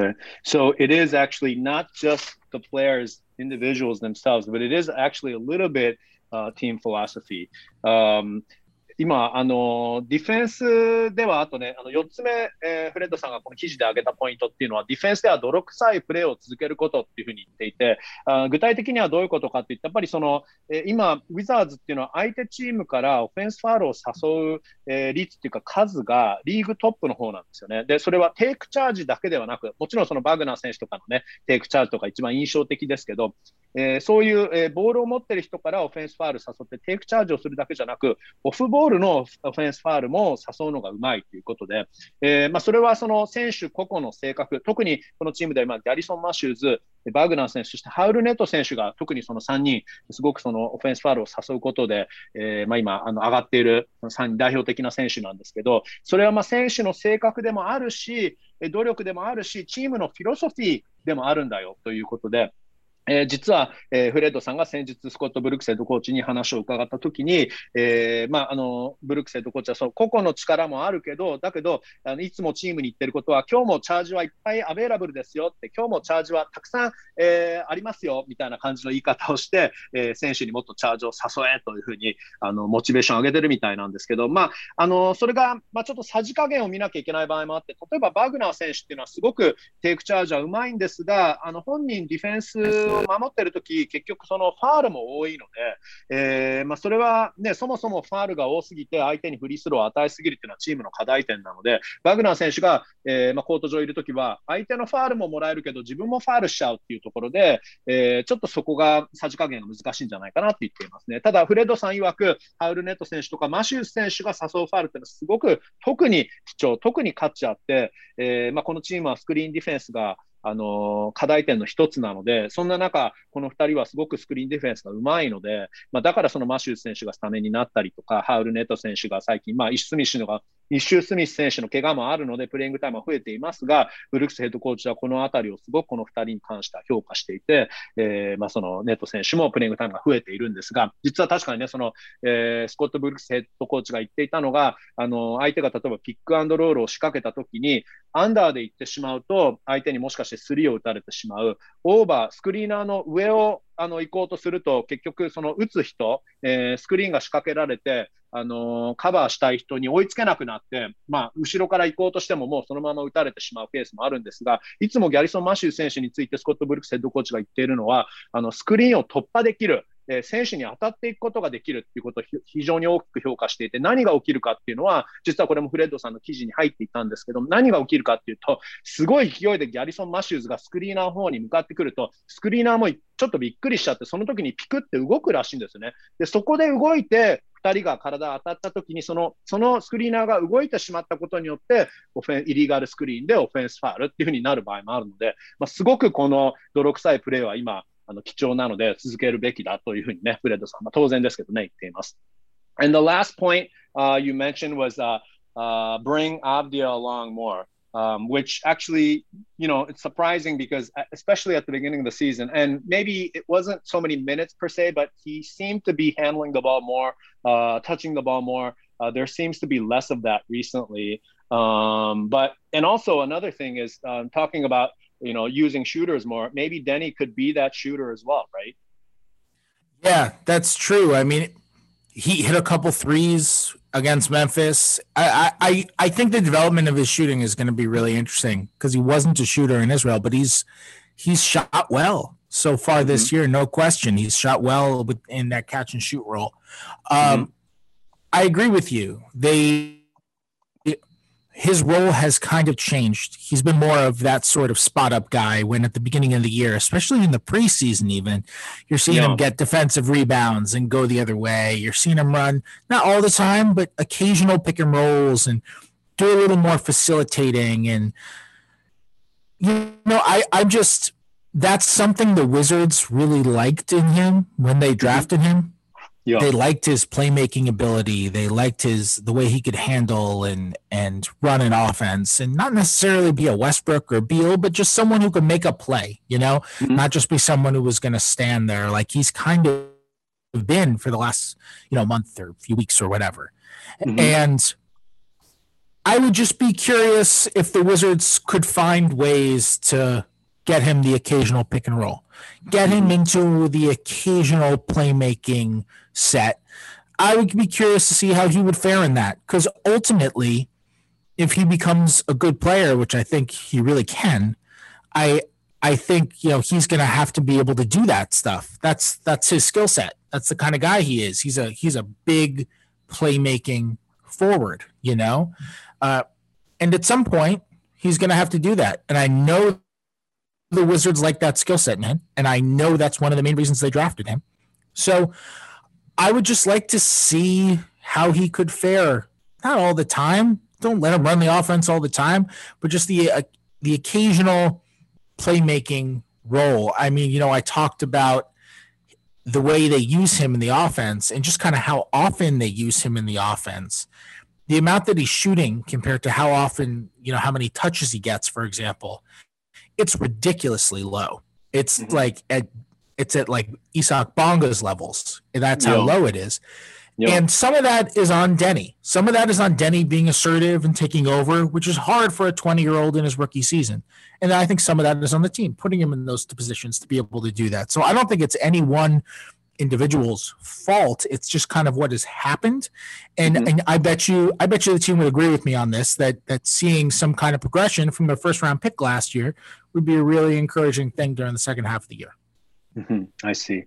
So it is actually not just the players, individuals themselves, but it is actually a little bit team philosophy. 今ディフェンスではあとね、4つ目、フレッドさんがこの記事で挙げたポイントっていうのは、ディフェンスでは泥臭いプレーを続けることっていうふうに言っていて、具体的にはどういうことかって言ったら、やっぱりその、今ウィザーズっていうのは相手チームからオフェンスファールを誘う、率っていうか数がリーグトップの方なんですよね。で、それはテイクチャージだけではなく、もちろんそのバグナー選手とかのね、テイクチャージとか一番印象的ですけど、そういう、ボールを持ってる人からオフェンスファール誘ってテイクチャージをするだけじゃなく、オフボールのオフェンスファールも誘うのがうまいということで、それはその選手個々の性格、特にこのチームではギャリソン・マシューズ、バグナー選手、そしてハウルネット選手が特にその3人、すごくそのオフェンスファールを誘うことで、今上がっている3人代表的な選手なんですけど、それは選手の性格でもあるし、努力でもあるし、チームのフィロソフィーでもあるんだよということで、実は、フレッドさんが先日スコット・ブルックスヘッドコーチに話を伺ったときに、ブルックスヘッドコーチはその個々の力もあるけど、だけどいつもチームに言ってることは、今日もチャージはいっぱいアベイラブルですよって、今日もチャージはたくさん、ありますよみたいな感じの言い方をして、選手にもっとチャージを誘えというふうにモチベーションを上げてるみたいなんですけど、それが、ちょっとさじ加減を見なきゃいけない場合もあって、例えばバグナー選手っていうのはすごくテイクチャージはうまいんですが、本人ディフェンスを守っているとき、結局そのファールも多いので、それは、ね、そもそもファールが多すぎて相手にフリースローを与えすぎるというのはチームの課題点なので、バグナー選手が、コート上いるときは相手のファールももらえるけど自分もファールしちゃうっていうところで、ちょっとそこがさじ加減が難しいんじゃないかなって言っていますね。ただフレッドさん曰く、ハウルネット選手とかマシュース選手が誘うファールっていうのはすごく特に貴重、特に価値あって、このチームはスクリーンディフェンスが課題点の一つなので、そんな中、この2人はすごくスクリーンディフェンスがうまいので、だからそのマシュー選手がスタメンになったりとか、ハウルネット選手が最近、イッシュ・スミス選手の怪我もあるので、プレイングタイムは増えていますが、ブルックスヘッドコーチはこのあたりをすごくこの2人に関しては評価していて、そのネット選手もプレイングタイムが増えているんですが、実は確かにね、その、スコット・ブルックスヘッドコーチが言っていたのが、相手が例えばピックアンドロールを仕掛けたときに、アンダーで行ってしまうと、相手にもしかしてスリーを打たれてしまう。オーバー、スクリーナーの上を行こうとすると、結局その打つ人、スクリーンが仕掛けられて、カバーしたい人に追いつけなくなって、後ろから行こうとしてももうそのまま打たれてしまうケースもあるんですが、いつもギャリソン・マシュー選手についてスコット・ブルックスヘッドコーチが言っているのは、スクリーンを突破できる。選手に当たっていくことができるっていうことを非常に大きく評価していて、何が起きるかっていうのは、実はこれもフレッドさんの記事に入っていたんですけど、何が起きるかっていうと、すごい勢いでギャリソン・マシューズがスクリーナーの方に向かってくると、スクリーナーもちょっとびっくりしちゃって、その時にピクって動くらしいんですね。で、そこで動いて、2人が体当たった時にそのスクリーナーが動いてしまったことによってイリーガルスクリーンでオフェンスファールっていう風になる場合もあるので、すごくこの泥臭いプレーは今貴重なので続けるべきだというふうにね、フレッドさん、当然ですけどね、言っています。And the last point you mentioned was bring Avdia along more, which actually, it's surprising because especially at the beginning of the season, and maybe it wasn't so many minutes per se, but he seemed to be handling the ball more, touching the ball more. There seems to be less of that recently. And also another thing is talking about using shooters more. Maybe Denny could be that shooter as well, right? Yeah, that's true. I mean, he hit a couple threes against Memphis. I think the development of his shooting is going to be really interesting because he wasn't a shooter in Israel, but he's shot well so far this year, no question. He's shot well in that catch and shoot role. I agree with you. His role has kind of changed. He's been more of that sort of spot up guy when at the beginning of the year, especially in the preseason even, you're seeing him get defensive rebounds and go the other way. You're seeing him run, not all the time, but occasional pick and rolls and do a little more facilitating. And, I'm just that's something the Wizards really liked in him when they drafted him. Yeah. They liked his playmaking ability. They liked the way he could handle and run an offense, and not necessarily be a Westbrook or Beal, but just someone who could make a play, not just be someone who was going to stand there like he's kind of been for the last, month or few weeks or whatever. And I would just be curious if the Wizards could find ways to get him the occasional pick and roll, get him into the occasional playmaking set. I would be curious to see how he would fare in that, because ultimately, if he becomes a good player, which I think he really can, I think he's going to have to be able to do that stuff. That's his skill set. That's the kind of guy he is. He's a big playmaking forward, and at some point he's going to have to do that. And I know the Wizards like that skill set in him, and I know that's one of the main reasons they drafted him. So I would just like to see how he could fare. Not all the time. Don't let him run the offense all the time, but just the occasional playmaking role. I mean, I talked about the way they use him in the offense and just kind of how often they use him in the offense. The amount that he's shooting compared to how often, how many touches he gets, for example, it's ridiculously low. It's it's at like Isaac Bonga's levels. That's how low it is. Yep. And some of that is on Denny. Some of that is on Denny being assertive and taking over, which is hard for a 20-year-old in his rookie season. And I think some of that is on the team, putting him in those positions to be able to do that. So I don't think it's any one individual's fault. It's just kind of what has happened. And I bet you the team would agree with me on this, that seeing some kind of progression from their first round pick last year would be a really encouraging thing during the second half of the year. I see.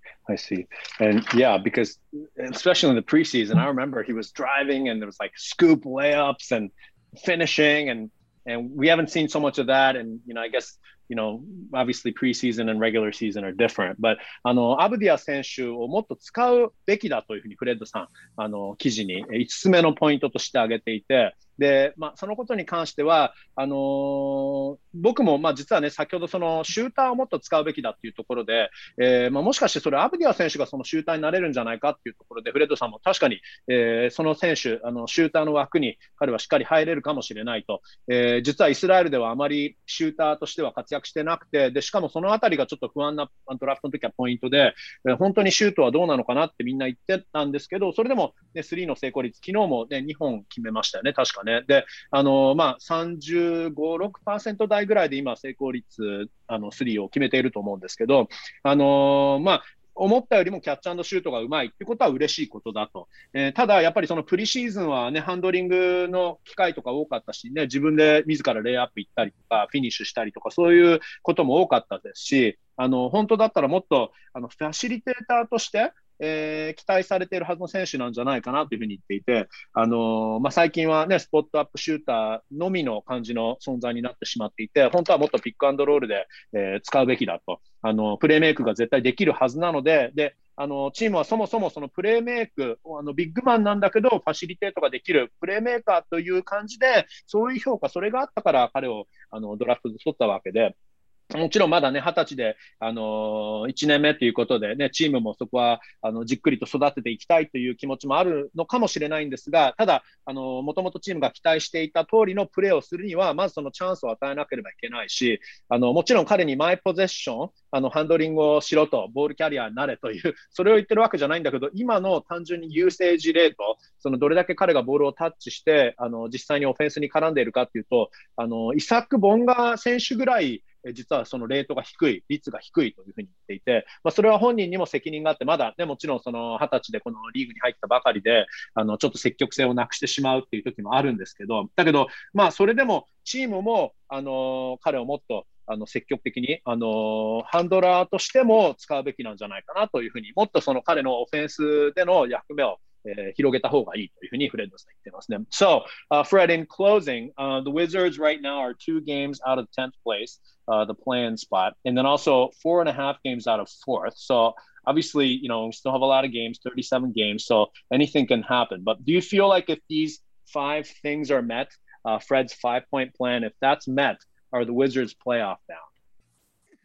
And yeah, because especially in the preseason, I remember he was driving and there was like scoop layups and finishing, and we haven't seen so much of that. And, I guess, obviously preseason and regular season are different. But,アブディア選手をもっと使うべきだというふうにフレッドさん、記事に5つ目のポイントとして挙げていて、で、そのことに関しては、僕も、実はね、先ほどそのシューターをもっと使うべきだっていうところで、もしかしてそれアブディア選手がそのシューターになれるんじゃないかっていうところで、フレッドさんも確かに、その選手、シューターの枠に彼はしっかり入れるかもしれないと。実はイスラエルではあまりシューターとしては活躍してなくて、で、しかもそのあたりがちょっと不安なドラフトの時はポイントで、本当にシュートはどうなのかなってみんな言ってたんですけど、それでも、ね、スリーの成功率、昨日も、ね、2本決めましたよね、確かね。で、35、6% 台ぐらいで今成功率、スリーを決めていると思うんですけど、思ったよりもキャッチ&シュートがうまいってことは嬉しいことだと。ただ、やっぱりそのプリシーズンはね、ハンドリングの機会とか多かったしね、自分で自らレイアップ行ったりとか、フィニッシュしたりとか、そういうことも多かったですし、本当だったらもっと、ファシリテーターとして、期待されているはずの選手なんじゃないかなというふうに言っていて、最近はね、スポットアップシューターのみの感じの存在になってしまっていて、本当はもっとピックアンドロールで、使うべきだと。プレーメイクが絶対できるはずなので、チームはそもそもそのプレーメイク、ビッグマンなんだけど、ファシリテートができるプレーメーカーという感じで、そういう評価、それがあったから彼をドラフトで取ったわけで、もちろんまだね、20歳で、1年目ということでね、チームもそこは、じっくりと育てていきたいという気持ちもあるのかもしれないんですが、ただ、もともとチームが期待していた通りのプレーをするには、まずそのチャンスを与えなければいけないし、もちろん彼にマイポゼッション、ハンドリングをしろと、ボールキャリアになれという、それを言ってるわけじゃないんだけど、今の単純にユーセージレート、どれだけ彼がボールをタッチして、実際にオフェンスに絡んでいるかっていうと、イサック・ボンガ選手ぐらい、実はそのレートが低い、率が低いというふうに言っていて、それは本人にも責任があって、まだね、もちろんその20歳でこのリーグに入ったばかりで、ちょっと積極性をなくしてしまうっていう時もあるんですけど、だけど、それでもチームも、彼をもっと、積極的に、ハンドラーとしても使うべきなんじゃないかなというふうに、もっとその彼のオフェンスでの役目を広げた方がいいというふうにフレッドさん言ってますね。So, Fred, in closing, the Wizards right now are 2 games out of 10th place, the play-in spot, and then also 4.5 games out of 4th. So, obviously, we still have a lot of games, 37 games, so anything can happen. But do you feel like if these 5 things are met, Fred's 5-point plan, if that's met, are the Wizards playoff bound?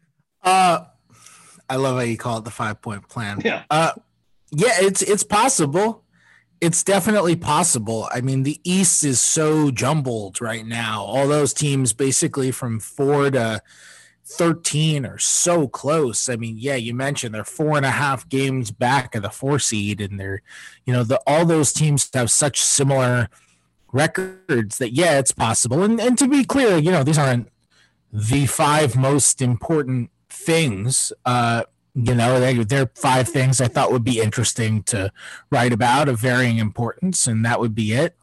I love how you call it the 5-point plan. Yeah. Yeah, it's possible. It's definitely possible. I mean, the East is so jumbled right now. All those teams basically from 4 to 13 are so close. I mean, yeah, you mentioned they're 4.5 games back of the 4 seed, and they're, all those teams have such similar records that, yeah, it's possible. And to be clear, these aren't the 5 most important things. They're 5 things I thought would be interesting to write about of varying importance, and that would be it.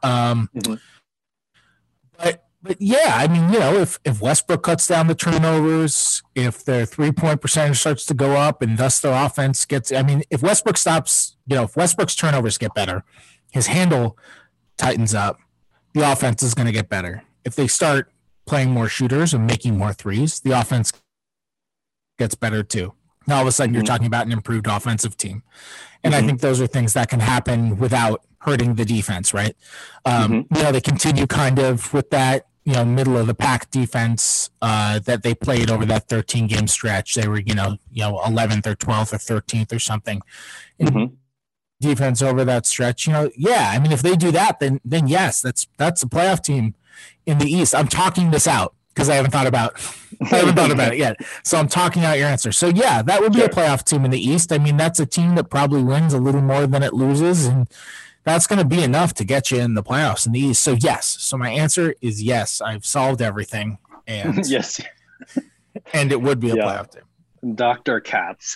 But yeah, I mean, if Westbrook cuts down the turnovers, if their 3-point percentage starts to go up, and thus their offense if Westbrook stops, if Westbrook's turnovers get better, his handle tightens up, the offense is going to get better. If they start playing more shooters and making more threes, the offense gets better too. Now, all of a sudden, you're talking about an improved offensive team. And I think those are things that can happen without hurting the defense, right? They continue kind of with that, middle of the pack defense that they played over that 13-game stretch. They were, 11th or 12th or 13th or something. Defense over that stretch, yeah. I mean, if they do that, then yes, that's a playoff team in the East. I'm talking this out because I haven't thought about it yet. So I'm talking out your answer. So yeah, that would be a playoff team in the East. I mean, that's a team that probably wins a little more than it loses, and that's going to be enough to get you in the playoffs in the East. So yes. So my answer is yes. I've solved everything, and yes, and it would be a playoff team. Dr. Katz.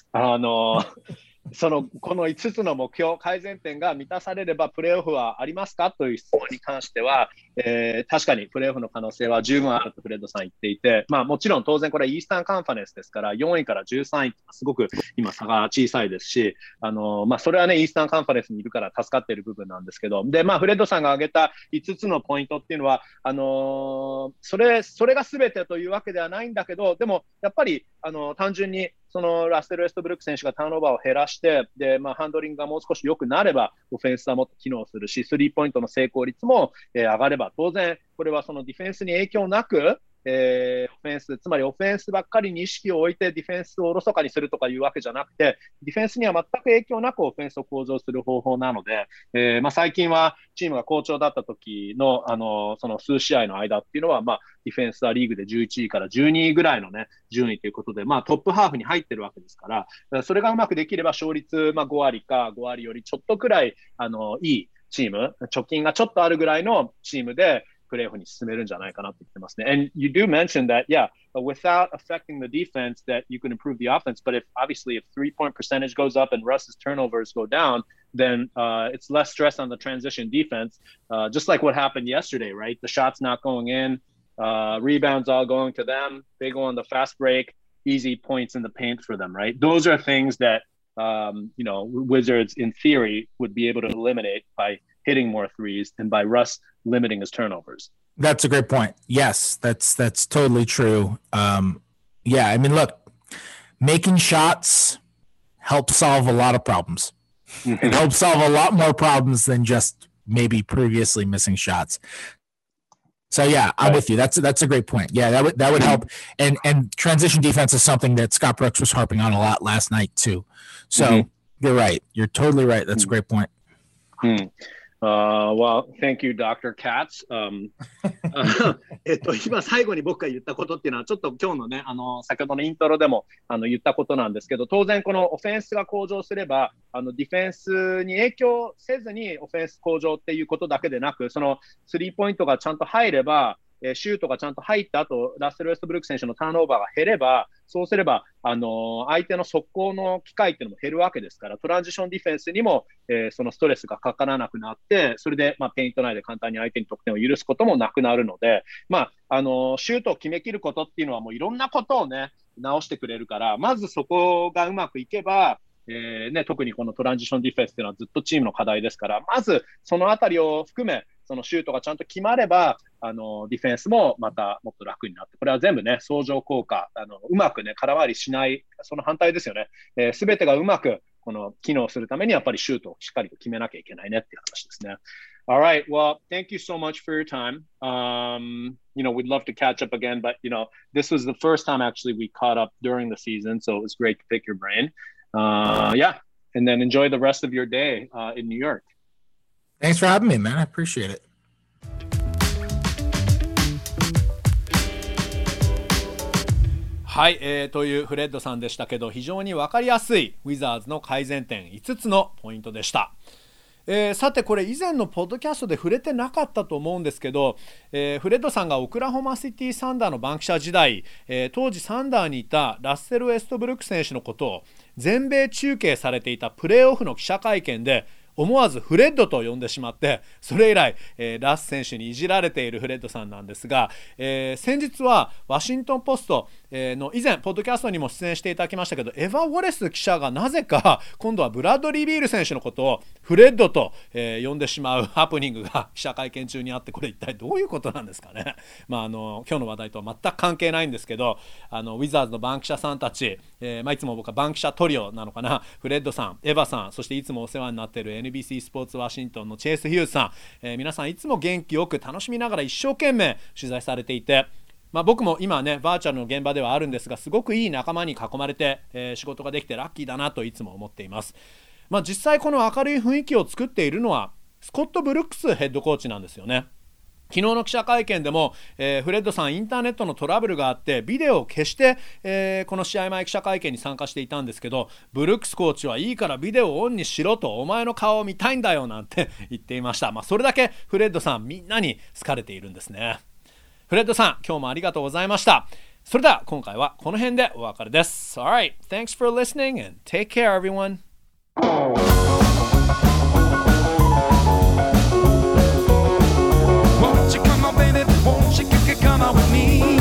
この5つの目標、改善点が満たされればプレーオフはありますかという質問に関しては、確かにプレーオフの可能性は十分あるとフレッドさん言っていて、もちろん当然これはイースタンカンファレンスですから、4位から13位ってすごく今差が小さいですし、それはね、イースタンカンファレンスにいるから助かっている部分なんですけど、で、フレッドさんが挙げた5つのポイントっていうのは、それが全てというわけではないんだけど、でもやっぱり単純にそのラッセル・ウェストブルック選手がターンオーバーを減らして、で、ハンドリングがもう少し良くなれば、オフェンスはもっと機能するし、スリーポイントの成功率も、上がれば、当然、これはそのディフェンスに影響なく、オフェンス、つまりオフェンスばっかりに意識を置いてディフェンスをおろそかにするとかいうわけじゃなくて、ディフェンスには全く影響なくオフェンスを向上する方法なので、最近はチームが好調だった時の、その数試合の間っていうのは、ディフェンスはリーグで11位から12位ぐらいのね、順位ということで、トップハーフに入ってるわけですから、それがうまくできれば勝率、5割か5割よりちょっとくらい、いいチーム、貯金がちょっとあるぐらいのチームで、プレーオフに進めるんじゃないかなって言ってますね。And you do mention that, yeah, without affecting the defense, that you can improve the offense. But if 3-point percentage goes up and Russ's turnovers go down, then it's less stress on the transition defense. Just like what happened yesterday, right? The shots not going in, rebounds all going to them. They go on the fast break, easy points in the paint for them, right? Those are things that Wizards in theory would be able to eliminate by hitting more threes and by Russ limiting his turnovers. That's a great point. Yes, that's totally true. Yeah, I mean, look, making shots helps solve a lot of problems. It helps solve a lot more problems than just maybe previously missing shots. So yeah, I'm with you. That's a great point. Yeah, that would help. And transition defense is something that Scott Brooks was harping on a lot last night too. So you're right. You're totally right. That's a great point. Well, thank you, Dr. Katz. 今最後に僕が言ったことっていうのはちょっと今日のね、先ほどのイントロでも言ったことなんですけど、当然このオフェンスが向上すれば、ディフェンスに影響せずにオフェンス向上っていうことだけでなく、そのスリーポイントがちゃんと入れば、シュートがちゃんと入った後、ラッセル・ウェストブルック選手のターンオーバーが減れば、そうすれば、相手の速攻の機会っていうのも減るわけですから、トランジションディフェンスにも、そのストレスがかからなくなって、それで、ペイント内で簡単に相手に得点を許すこともなくなるので、シュートを決めきることっていうのはもういろんなことをね、直してくれるから、まずそこがうまくいけば、特にこのトランジションディフェンスっていうのはずっとチームの課題ですから、まずそのあたりを含め、そのシュートがちゃんと決まれば、ディフェンスもまたもっと楽になって、これは全部ね、相乗効果、うまくね、空回りしない、その反対ですよね。すべてがうまく、機能するためにやっぱりシュートをしっかりと決めなきゃいけないねっていう話ですね。 All right. Well, thank you so much for your time. We'd love to catch up again, but this was the first time actually we caught up during the season, so it was great to pick your brain. Yeah, and then enjoy the rest of your day in New York. Thanks for having me, man. I appreciate it. はい、というフレッドさんでしたけど、非常に分かりやすいウィザーズの改善点5つのポイントでした。さてこれ以前のポッドキャストで触れてなかったと思うんですけど、フレッドさんがオクラホマシティサンダーの番記者時代、当時サンダーにいたラッセル・ウェストブルック選手のことを全米中継されていたプレーオフの記者会見で思わずフレッドと呼んでしまって、それ以来、ラス選手にいじられているフレッドさんなんですが、先日はワシントンポストの以前ポッドキャストにも出演していただきましたけど、エヴァ・ウォレス記者がなぜか今度はブラッドリー・ビール選手のことをフレッドと、呼んでしまうハプニングが記者会見中にあって、これ一体どういうことなんですかね。今日の話題とは全く関係ないんですけど、ウィザーズの番記者さんたち、いつも僕は番記者トリオなのかな、フレッドさん、エヴァさん、そしていつもお世話になっている NBC スポーツワシントンのチェイス・ヒューズさん、皆さんいつも元気よく楽しみながら一生懸命取材されていて、僕も今ねバーチャルの現場ではあるんですが、すごくいい仲間に囲まれて、仕事ができてラッキーだなといつも思っています。実際この明るい雰囲気を作っているのはスコット・ブルックスヘッドコーチなんですよね。昨日の記者会見でも、フレッドさんインターネットのトラブルがあってビデオを消して、この試合前記者会見に参加していたんですけど、ブルックスコーチはいいからビデオをオンにしろと、お前の顔を見たいんだよなんて言っていました。それだけフレッドさんみんなに好かれているんですね。フレッドさん、今日もありがとうございました。それでは今回はこの辺でお別れです。 Alright, thanks for listening and take care everyone. Won't you come out with me?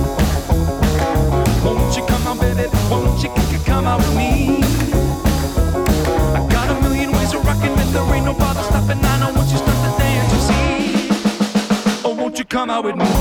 Won't you come out, baby? Won't you come out with me? I got a million ways of rocking and there ain't no bother stopping. I know once you start to dance, you see. Oh, won't you come out with me?